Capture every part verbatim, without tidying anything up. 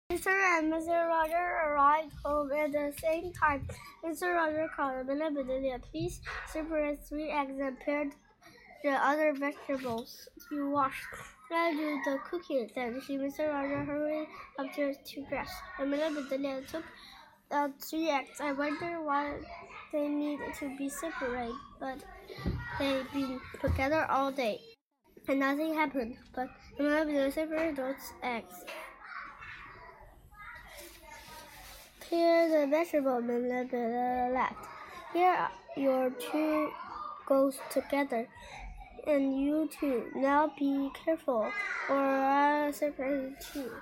Mister and Missus Roger arrived home at the same time. Mister Roger called Amelia Bedelia. Please separate three eggs and pare the other vegetables you washed. I'll do the cooking. Then she, Mister Roger hurried upstairs to dress. Amelia Bedelia took out three eggs. I wonder why they need to be separated, but they've been together all day, and nothing happened. But Amelia Bedelia separated those eggs. Here the vegetable left. Here your two goes together, and you two. Now be careful, or I'll separate the two.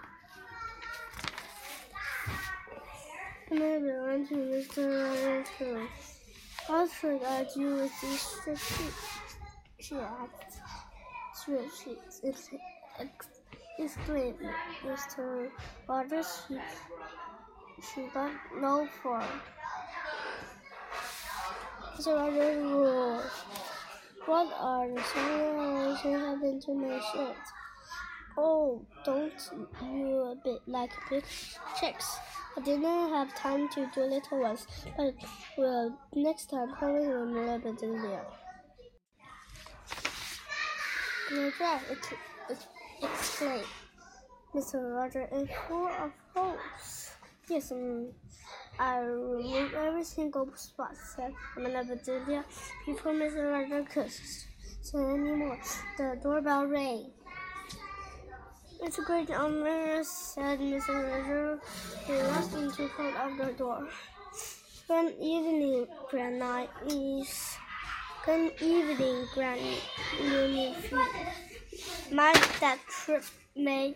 Maybe went to Mister Rogers' room. What should I do with these sheets? She asked. She exclaimed. Mister Rogers, she, she don't know for. Mister Rogers rules. What are the circumstances happened to my shirts? Oh, don't you a bit like big chicks? I didn't have time to do little ones, but well, next time promise me a little bit easier. You're right, it, it exclaimed Mister Roger, and full of holes. Yes, um, I removed every single spot, said Amelia Bedelia, before Mister Roger could say any more. The doorbell rang. It's a great honor, said Mister Roger. He rushed into front of the door. Good evening, Grandniece. Good evening, Granny. My that trip may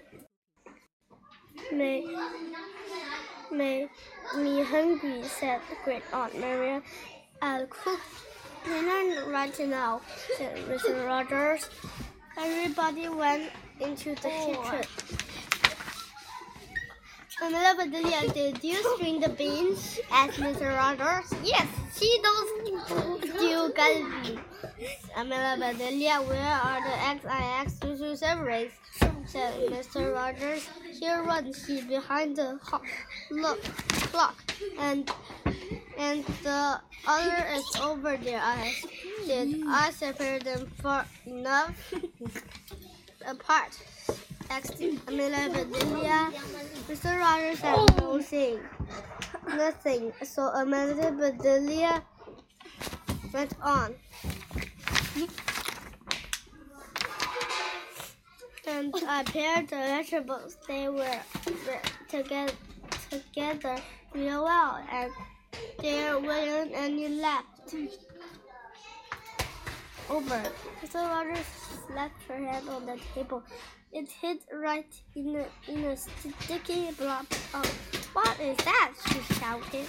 may made me hungry, said Great Aunt Maria. I'll cook dinner right now, said Mister Rogers. Everybody went into the kitchen. Amelia Bedelia, did you string the beans? Asked Mister Rogers. Yes, she knows you got me. Amelia Bedelia, where are the eggs I asked you to separate? Said Mister Rogers. Here one she behind the look, clock, and and the other is over there. I did I separate them far enough apart? Asked Amelia Bedelia. Mister Rogers said nothing. Nothing. So Amelia Bedelia went on. And I paired the vegetables. They were together, together real well, and there wasn't any left over. Mister Rogers slapped her hand on the table. It hit right in a, in a sticky blob. Oh, what is that? She shouted.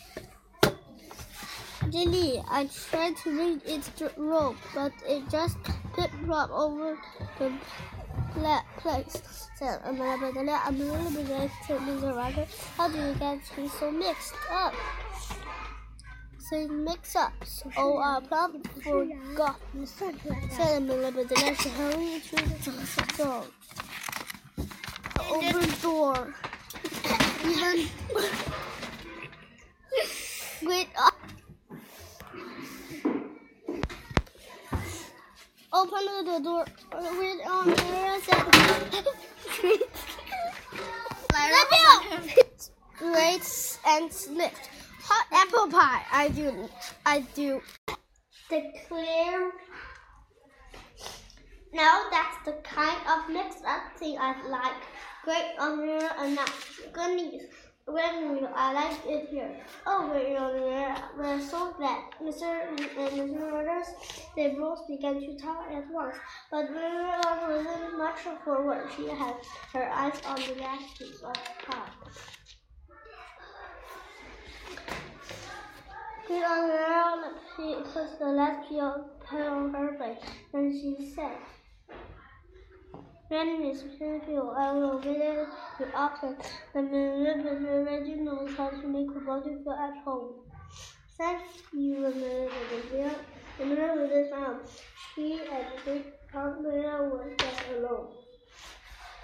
Lily, I tried to read its rope, but it just pip-plop over the place, said Amelia Bedelia. Amelia Bedelia told Mister Roger, how do you get things so mixed up? Say mix up. Oh, I plumb forgot, said Amelia Bedelia. She hurried to the door. The open door. Even Great up. Open the door. Read on there said Great and slipped. Hot apple pie. I do. I do. Declare. Now that's the kind of mixed up thing I like. Great honor and not goodness. When I like it here. Oh, great honor. We're so glad. Mister and Mister Rogers, they both began to talk at once. But Mary wasn't much for work. She had her eyes on the last piece of pie. Great honor, she put the last piece of pie on her plate. Then she said, When Miss Penfield, I will visit you often. The Minister already knows how to make a body feel at home. Thank you, Minister. The Minister found she and Great Aunt Maria were just alone.